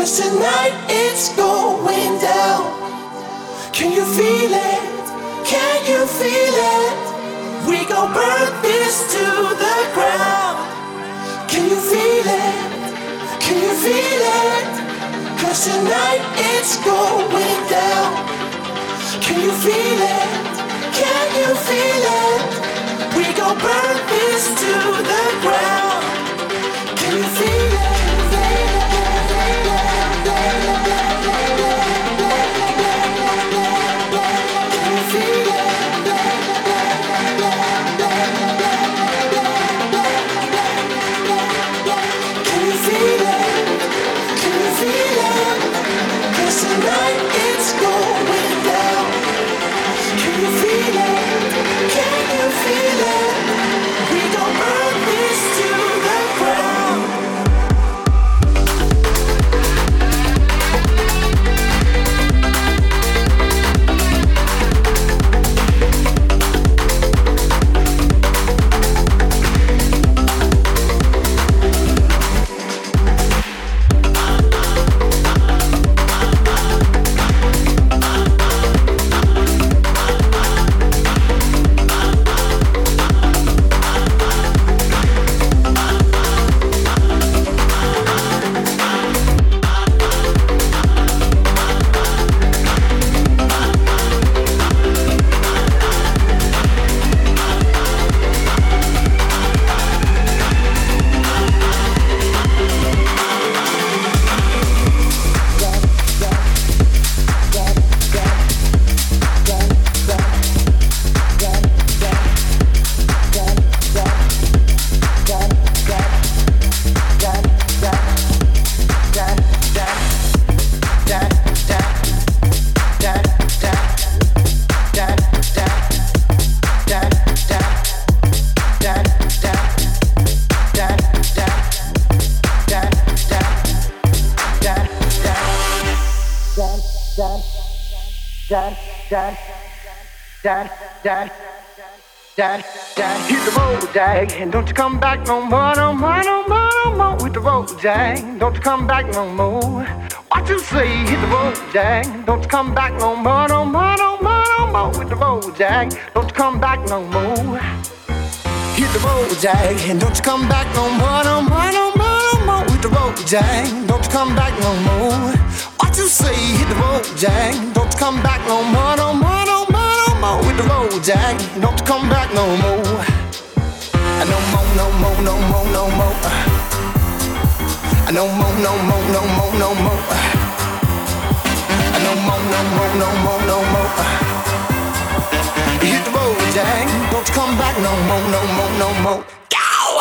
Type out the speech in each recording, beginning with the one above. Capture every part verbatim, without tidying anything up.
'Cause tonight it's going down. Can you feel it? Can you feel it? We gon' burn this to the ground. Can you feel it? Can you feel it? 'Cause tonight it's going down. Can you feel it? Can you feel it? We gon' burn this to the ground. Can you feel it? Tonight it's going down. Can you feel it? Can you feel it? We gon' burn this to the ground. Dad, dad, dad, dad, hit the road, Jack, and don't you come back no more, no more, no more, no more with the road, Jack. Don't you come back no more. What you say? Hit the road, Jack. Don't you come back no more, no more, no more, no more with the road, Jack. Don't you come back no more. Hit the road, Jack, and don't you come back no more, no more, no more, no more with the road, Jack. Don't you come back no more. What you say? Hit the road, Jack. Don't you come back no more, no more, no more, no more with the road, Jack. Don't you come back no more. No more, no more, no more, no more. No more, no more, no more, no more. No more, no more, no more, no more. Hit the road, Jack. Don't you come back no more, no more, no more. Go!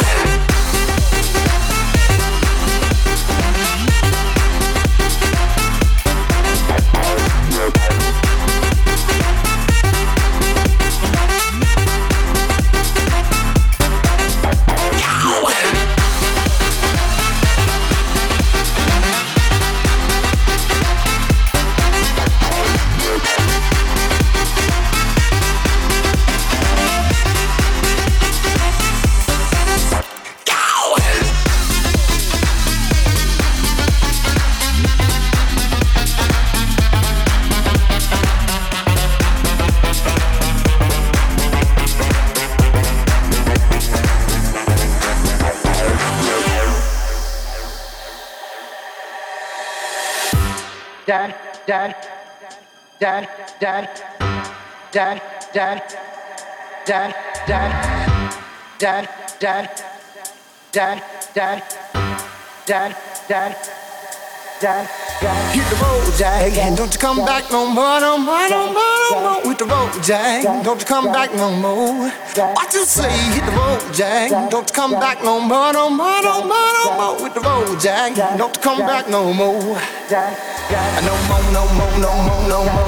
Dad, dad, dad, dad, dad, dad, dad, dad, dad, dad, dad, dad, dad, dad, dad, dad. Hit the road, Jack, and don't you come back no more, no more, no more, no more with the road, Jack. Don't you come back no more. What you say? Hit the road, Jack. Don't you come back no more, no more, no more, no more with the road, Jack. Don't you come back no more. No more, no more, no more, no more.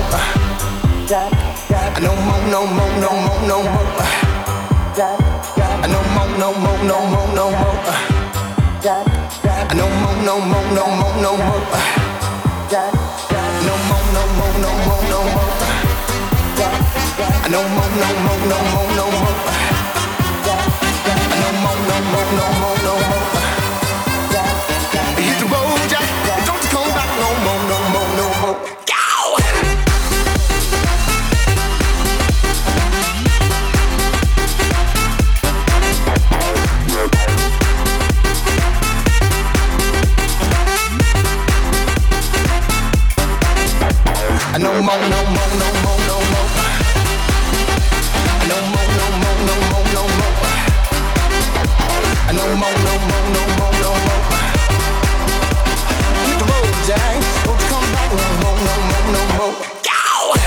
No more, no more, no more, no more. No more, no more, no more, no more. No more, no more, no more, no more. No more, no more, no more, no more. No more, no more, no more, no more. No more, no more, no more, no more. Hit the road, Jack. Don't you come back. more, no more, no more, no more. No more, no more, no more, no more. No more, no more, no more, no more. Hit the road, Jack. Don't you come back no more, no more, no more. Go!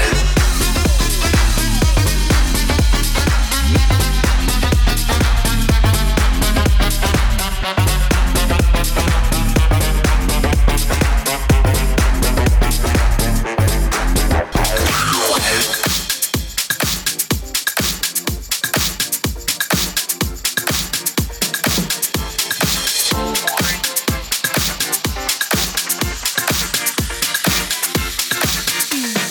Mm.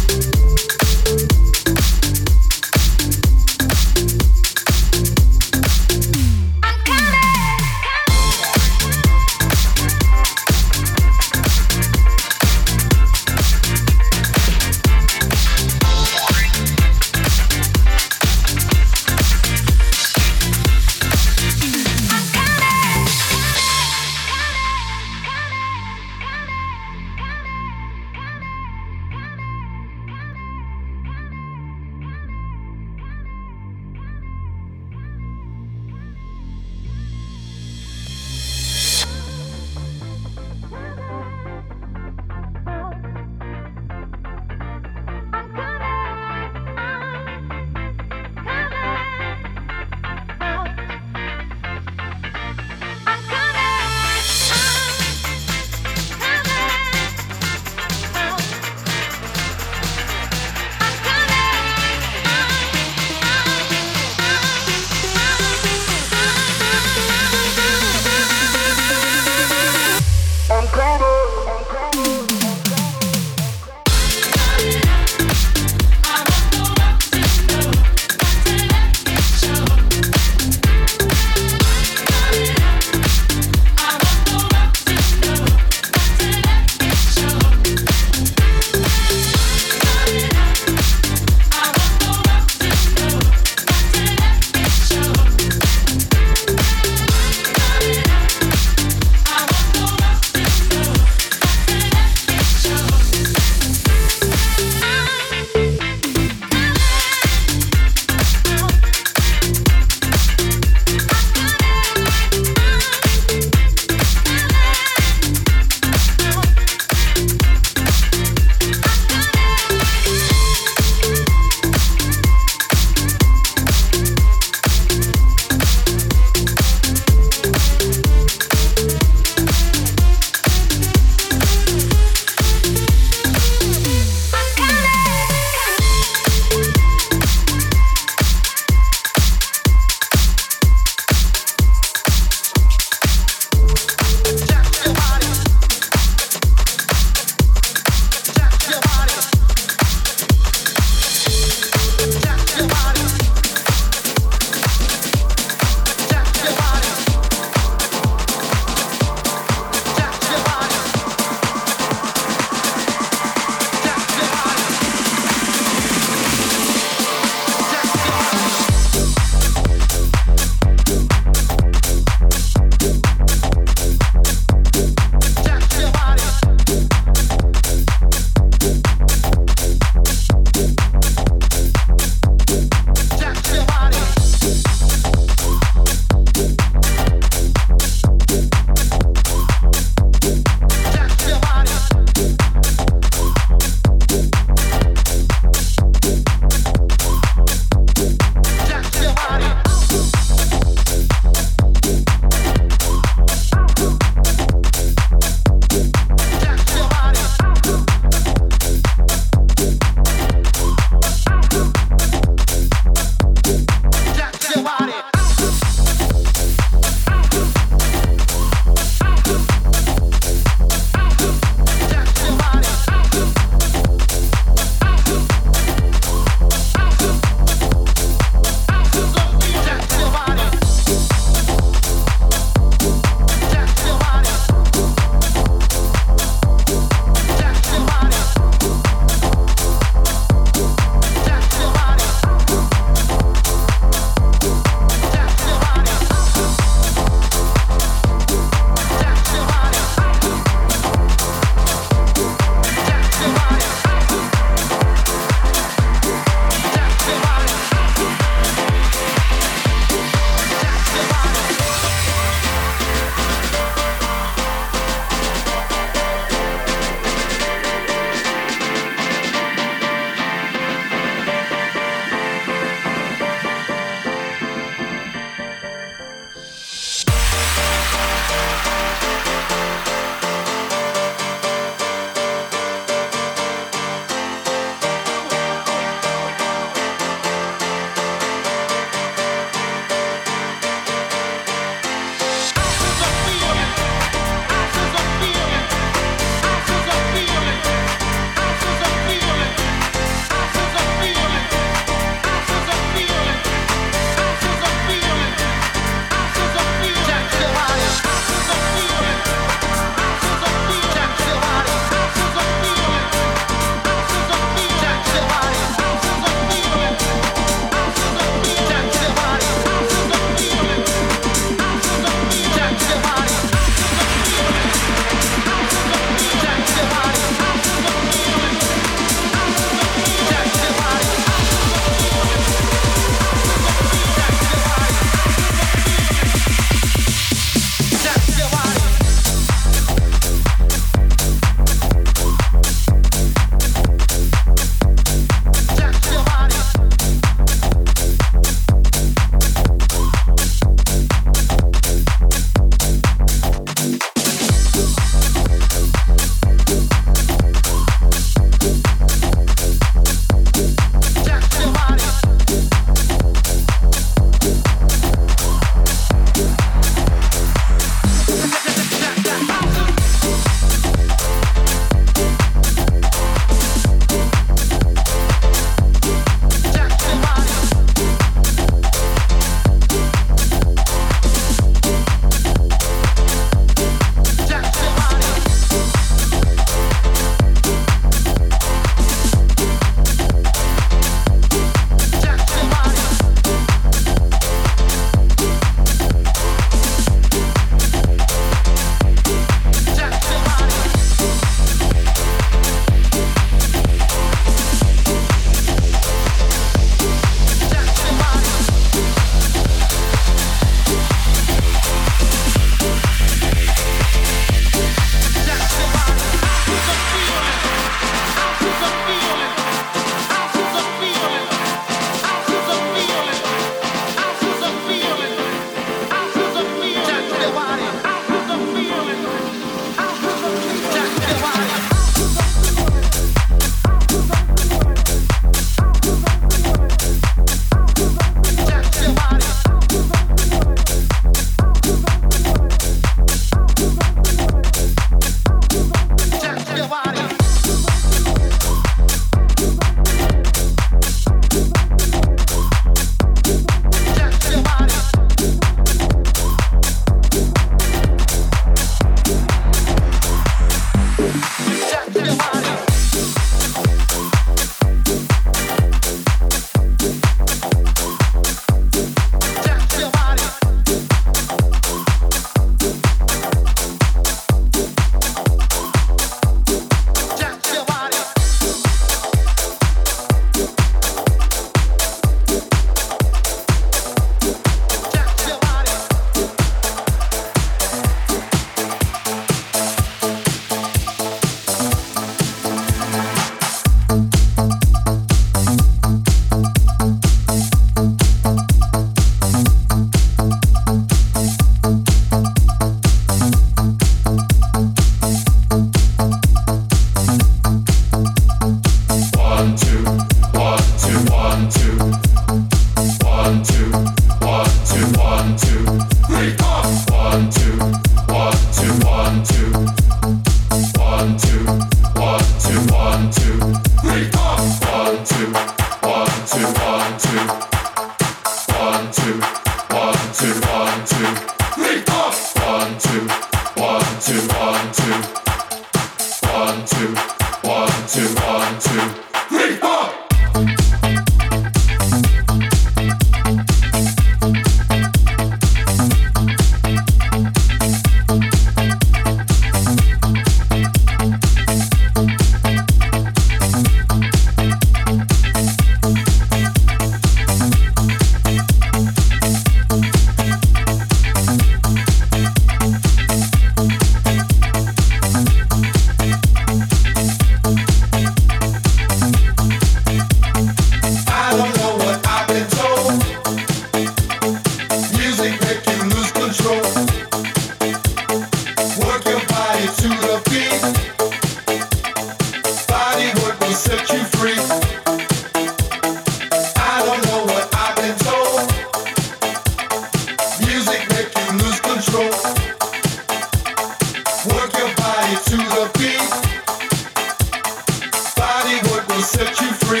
will set you free.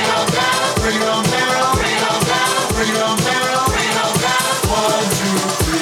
One, two, three.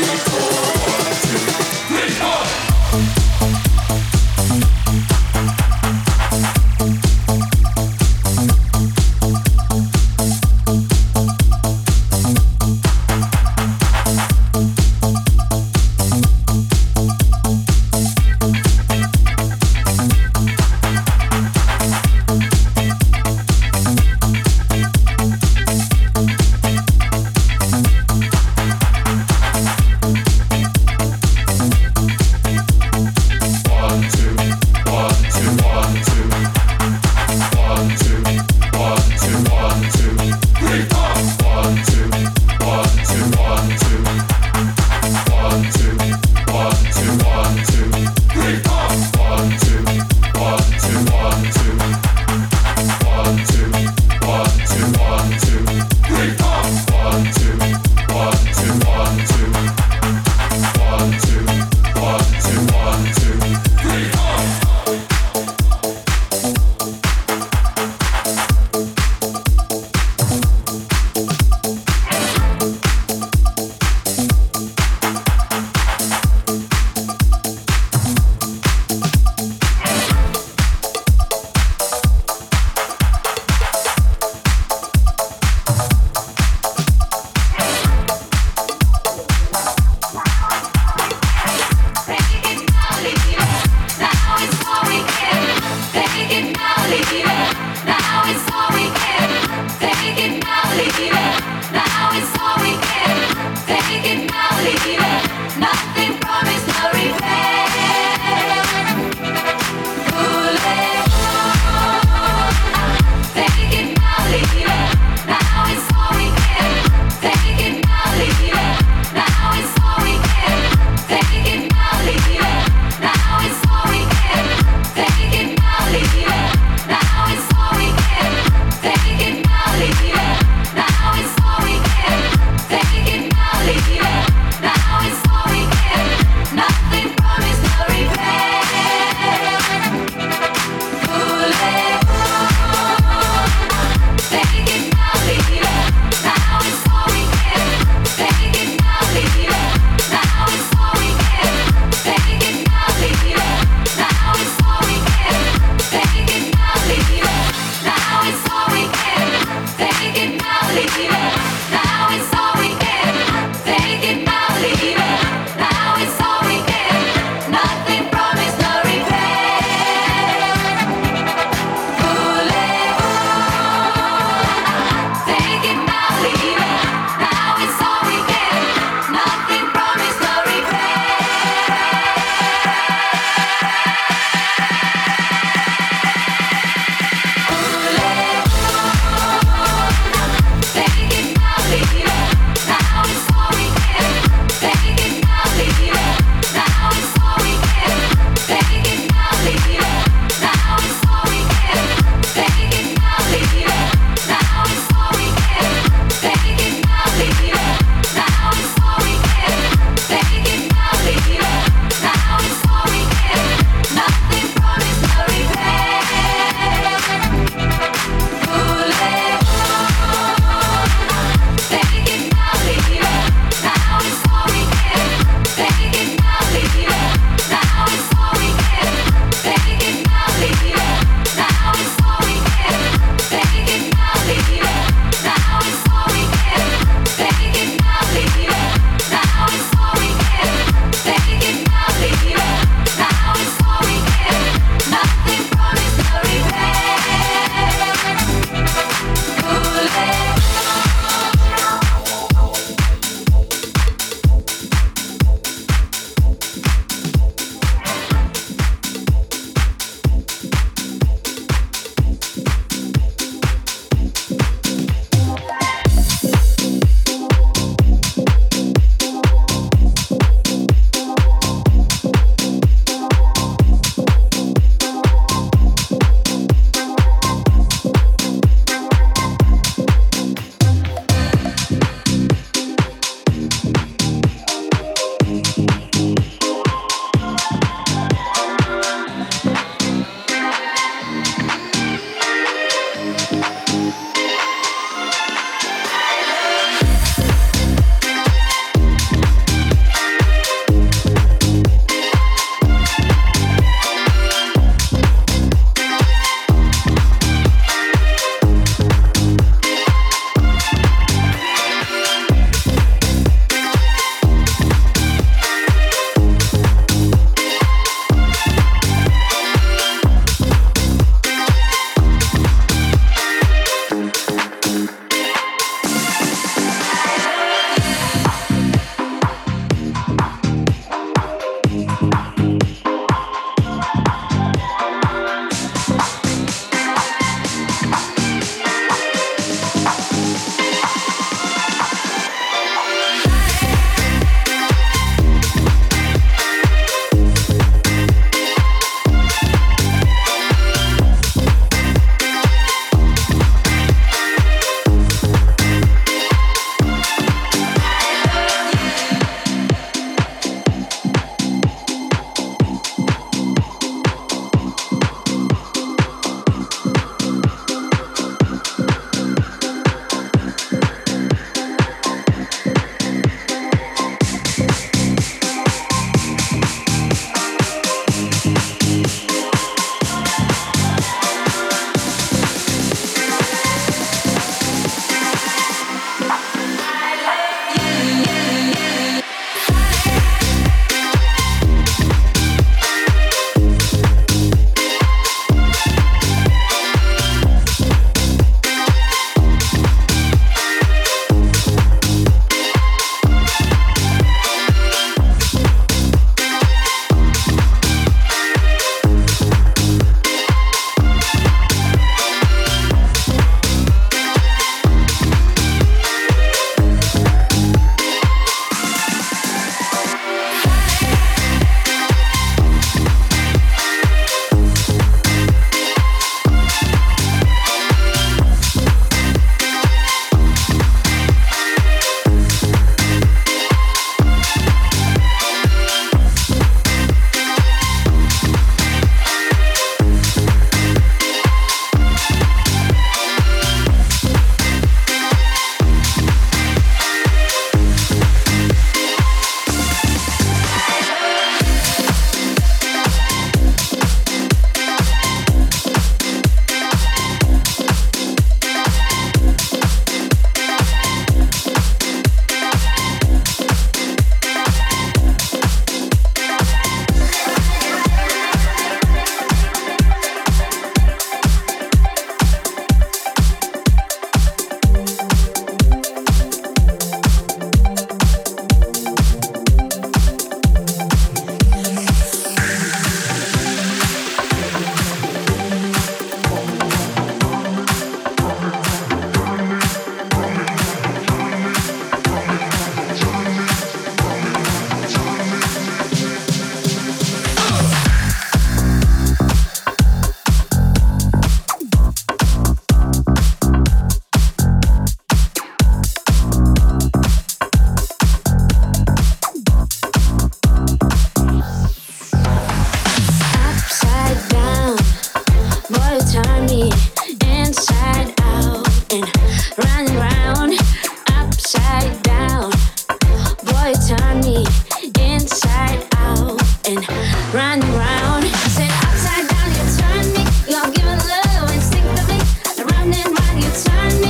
and running round upside down. Boy, turn me inside out and running round. I said upside down, you turn me. You're giving love instinctively. Round and round, you turn me.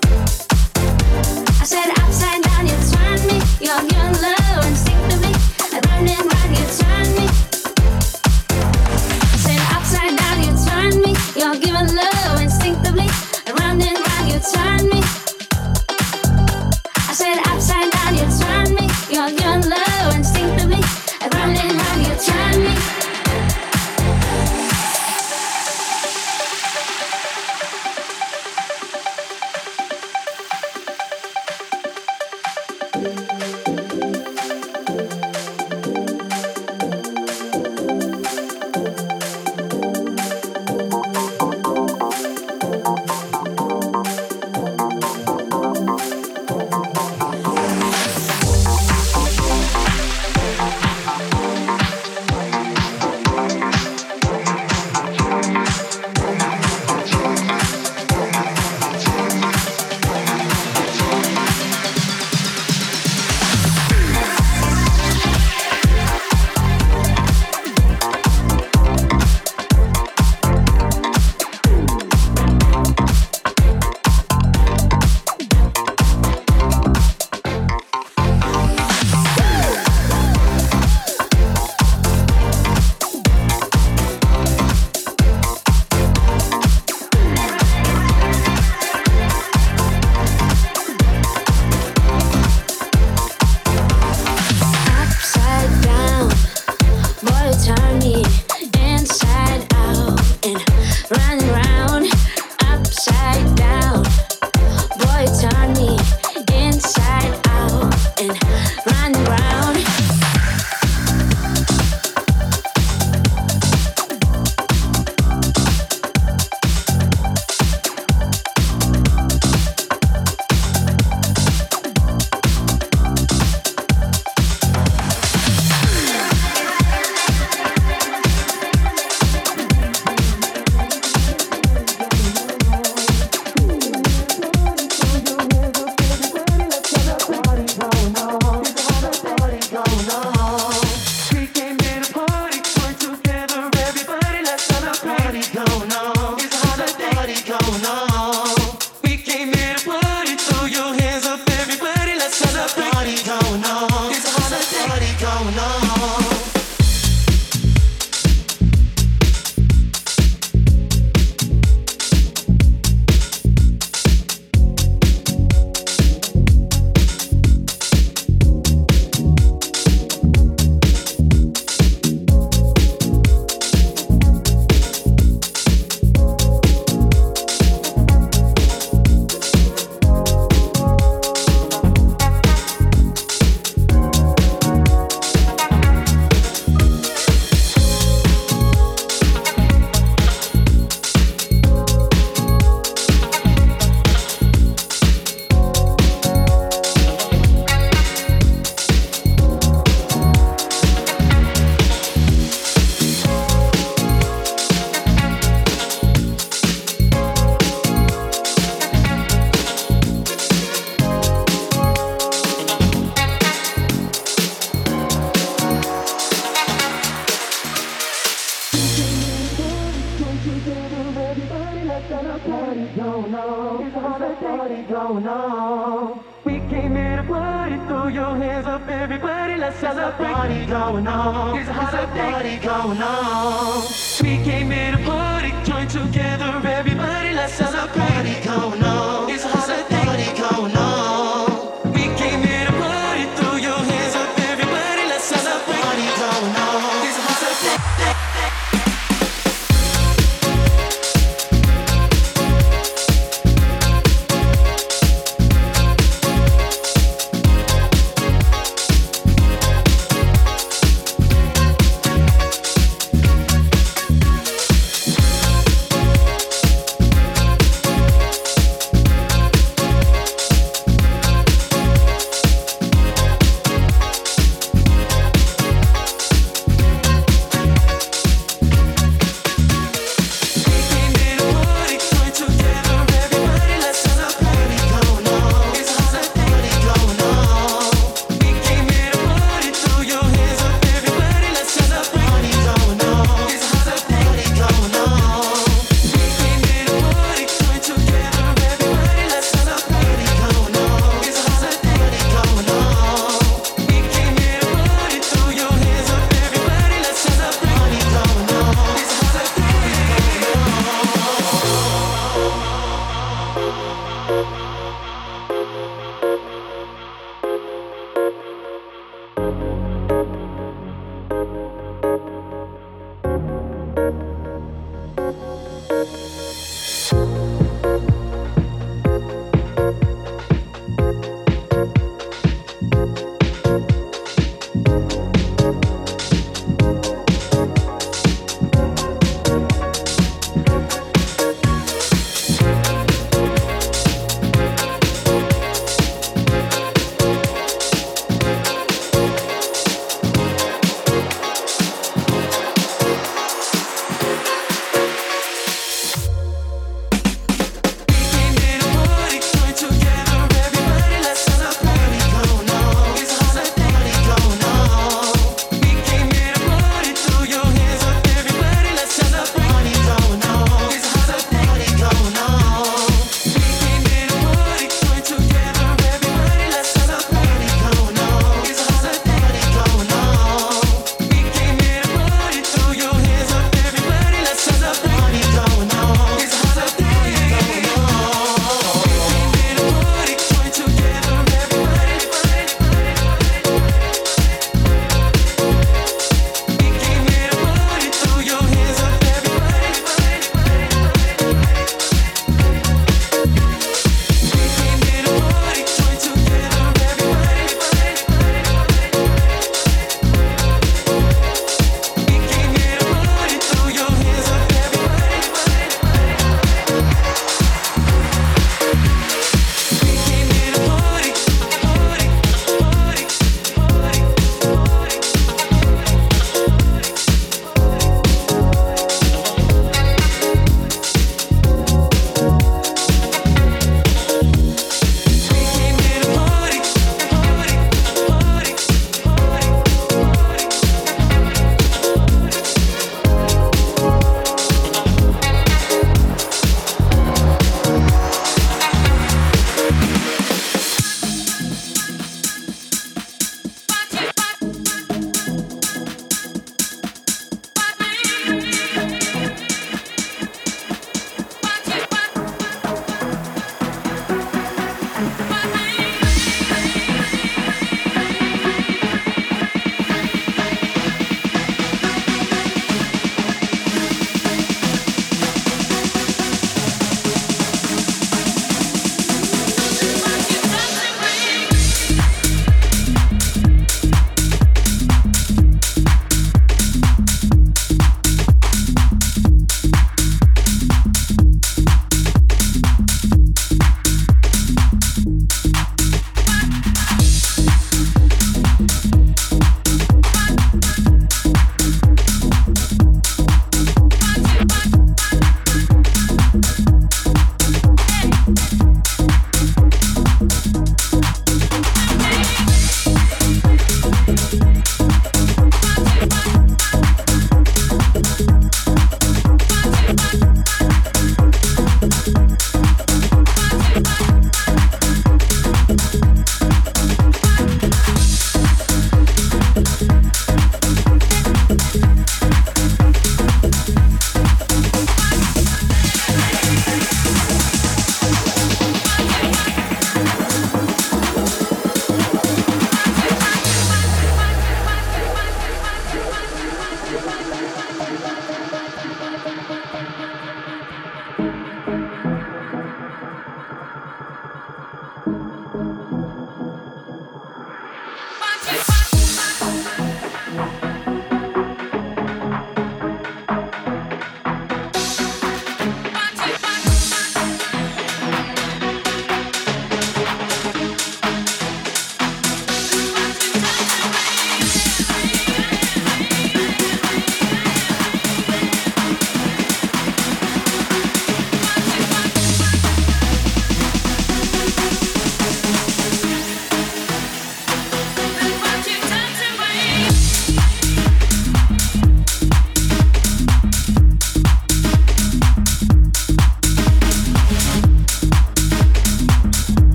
I said upside down, you turn me. You're giving love instinctively. Round and round, you turn me. I said upside down, you turn me. You're giving love instinctively. Round and round, you turn me. I said upside down, you turn me. You're giving love instinctively. Round and round, you turn me.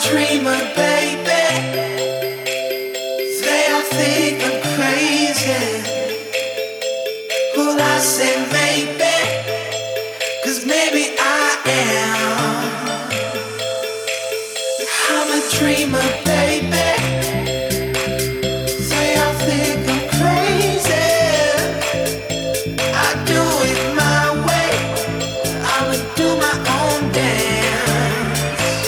dreamer, baby. They all think I'm crazy. Well, I say maybe, 'cause maybe I am. I'm a dreamer, baby. They all think I'm crazy. I do it my way. I'ma do my own dance.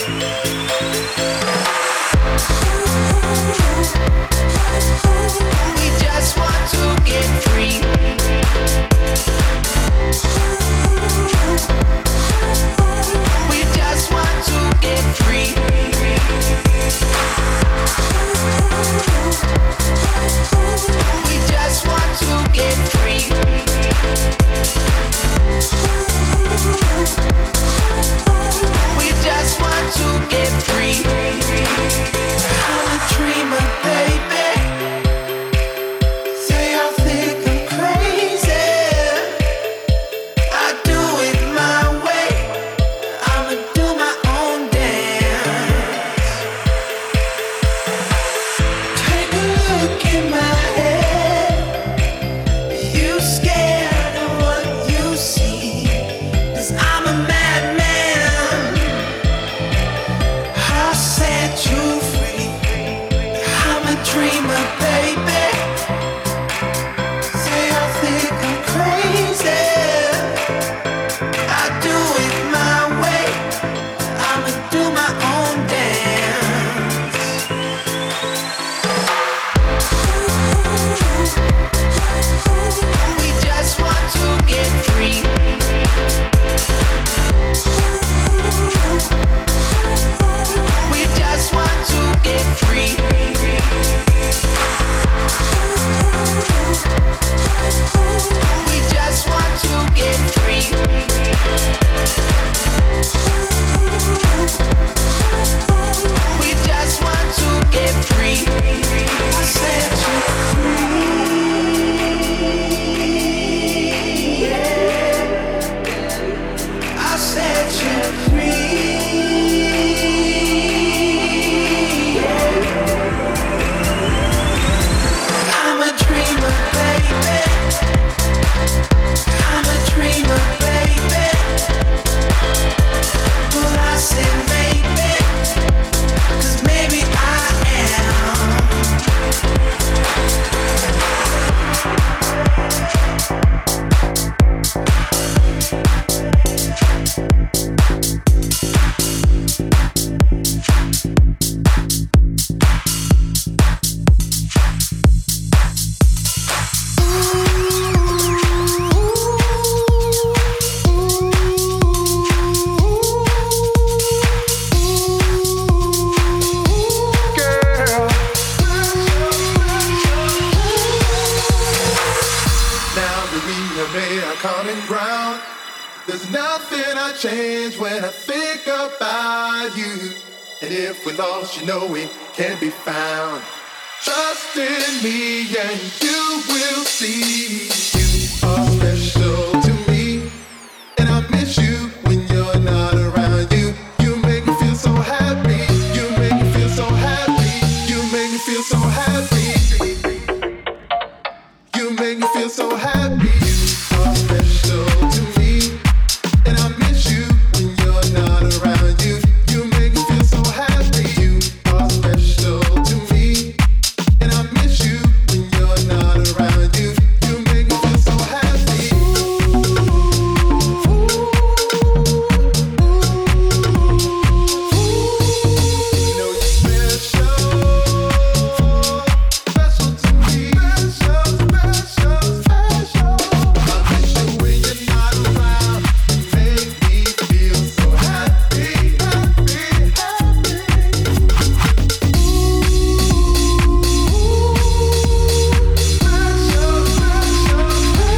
We just want to get free. We just want to get free. We just want to get free. We just want to get free. I'm a dreamer, baby. They all think I'm crazy. I do it my way. I'ma do my own dance. Take a look in my head. You scared of what you see? 'Cause I'm a madman. I'll set you free. I'm a dreamer, baby. They all think I'm crazy. I do it my way. I'ma do my own dance. We just want to get free. We just want to get free. We just want to get free. We just want to get free. I said you free. I said you free. I'm a dreamer, baby. I'm a dreamer, baby. Well, I said maybe, 'cause maybe I am. Girl, Now that we have made our common ground, there's nothing I change when I think about you. And if we lost, you know we can be found. Trust in me and you will see. You are special to me, and I miss you when you're not around. You, you make me feel so happy. You make me feel so happy. You make me feel so happy. You make me feel so happy. You are special to me, and I miss you when you're not around. You, you make me feel so happy. You are special to me, and I miss you when you're not around. You, you make me feel so happy. You know you're special, special to me, special, special, special. I miss you when you're not around. You make me feel so happy, happy, happy. Special, special,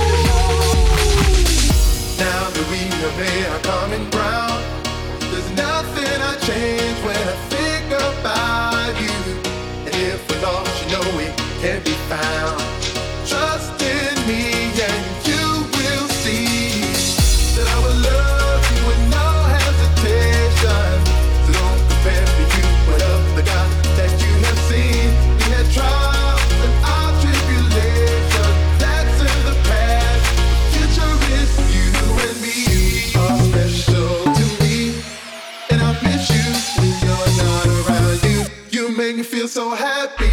special. Now that we have made our common ground, there's nothing I change when I think about you. And if we lost, you know we can be found. Trust in me and you will see that I will love you with no hesitation. So don't compare to you what so happy.